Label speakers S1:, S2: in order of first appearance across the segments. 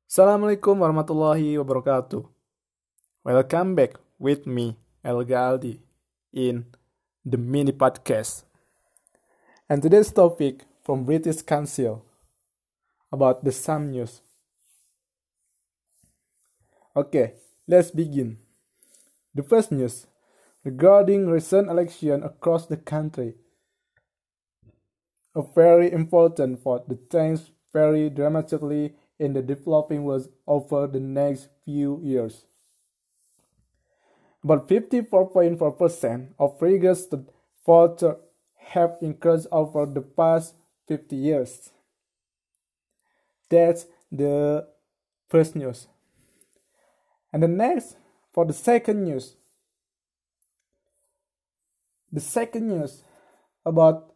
S1: Assalamualaikum warahmatullahi wabarakatuh. Welcome back with me, El Galdi, in the mini podcast. And today's topic from British Council about the Sam news. Okay, let's begin. The first news regarding recent election across the country. A very important vote that changes very dramatically in the developing world over the next few years. About 54.4% of registered voters have increased over the past 50 years. That's the first news. And the next, for the second news. The second news about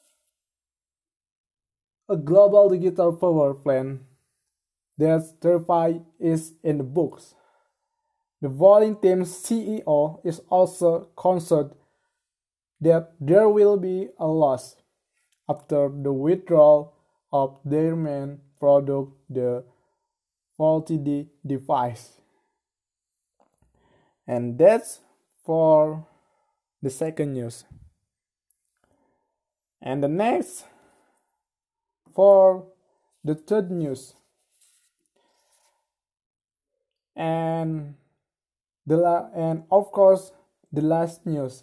S1: a global digital power plan that thereby is in the books. The voting team's CEO is also concerned that there will be a loss after the withdrawal of their main product, the faulty device. And that's for the second news. And the next, for the third news. And of course, the last news.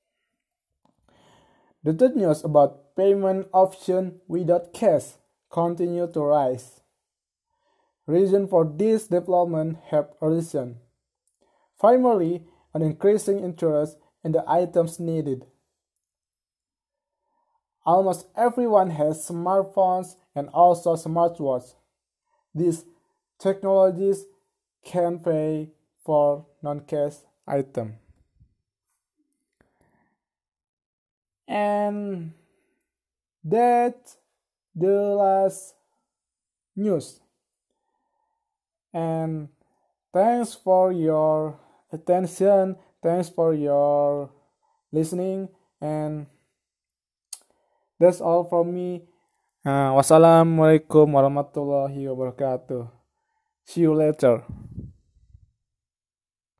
S1: The third news about payment option without cash continue to rise. Reason for this development have arisen. Primarily, an increasing interest in the items needed. Almost everyone has smartphones and also smartwatches. These technologies can pay for non-cash item. And that's the last news. And thanks for your attention. Thanks for your listening. And that's all from me. Wassalamualaikum warahmatullahi wabarakatuh. See you later.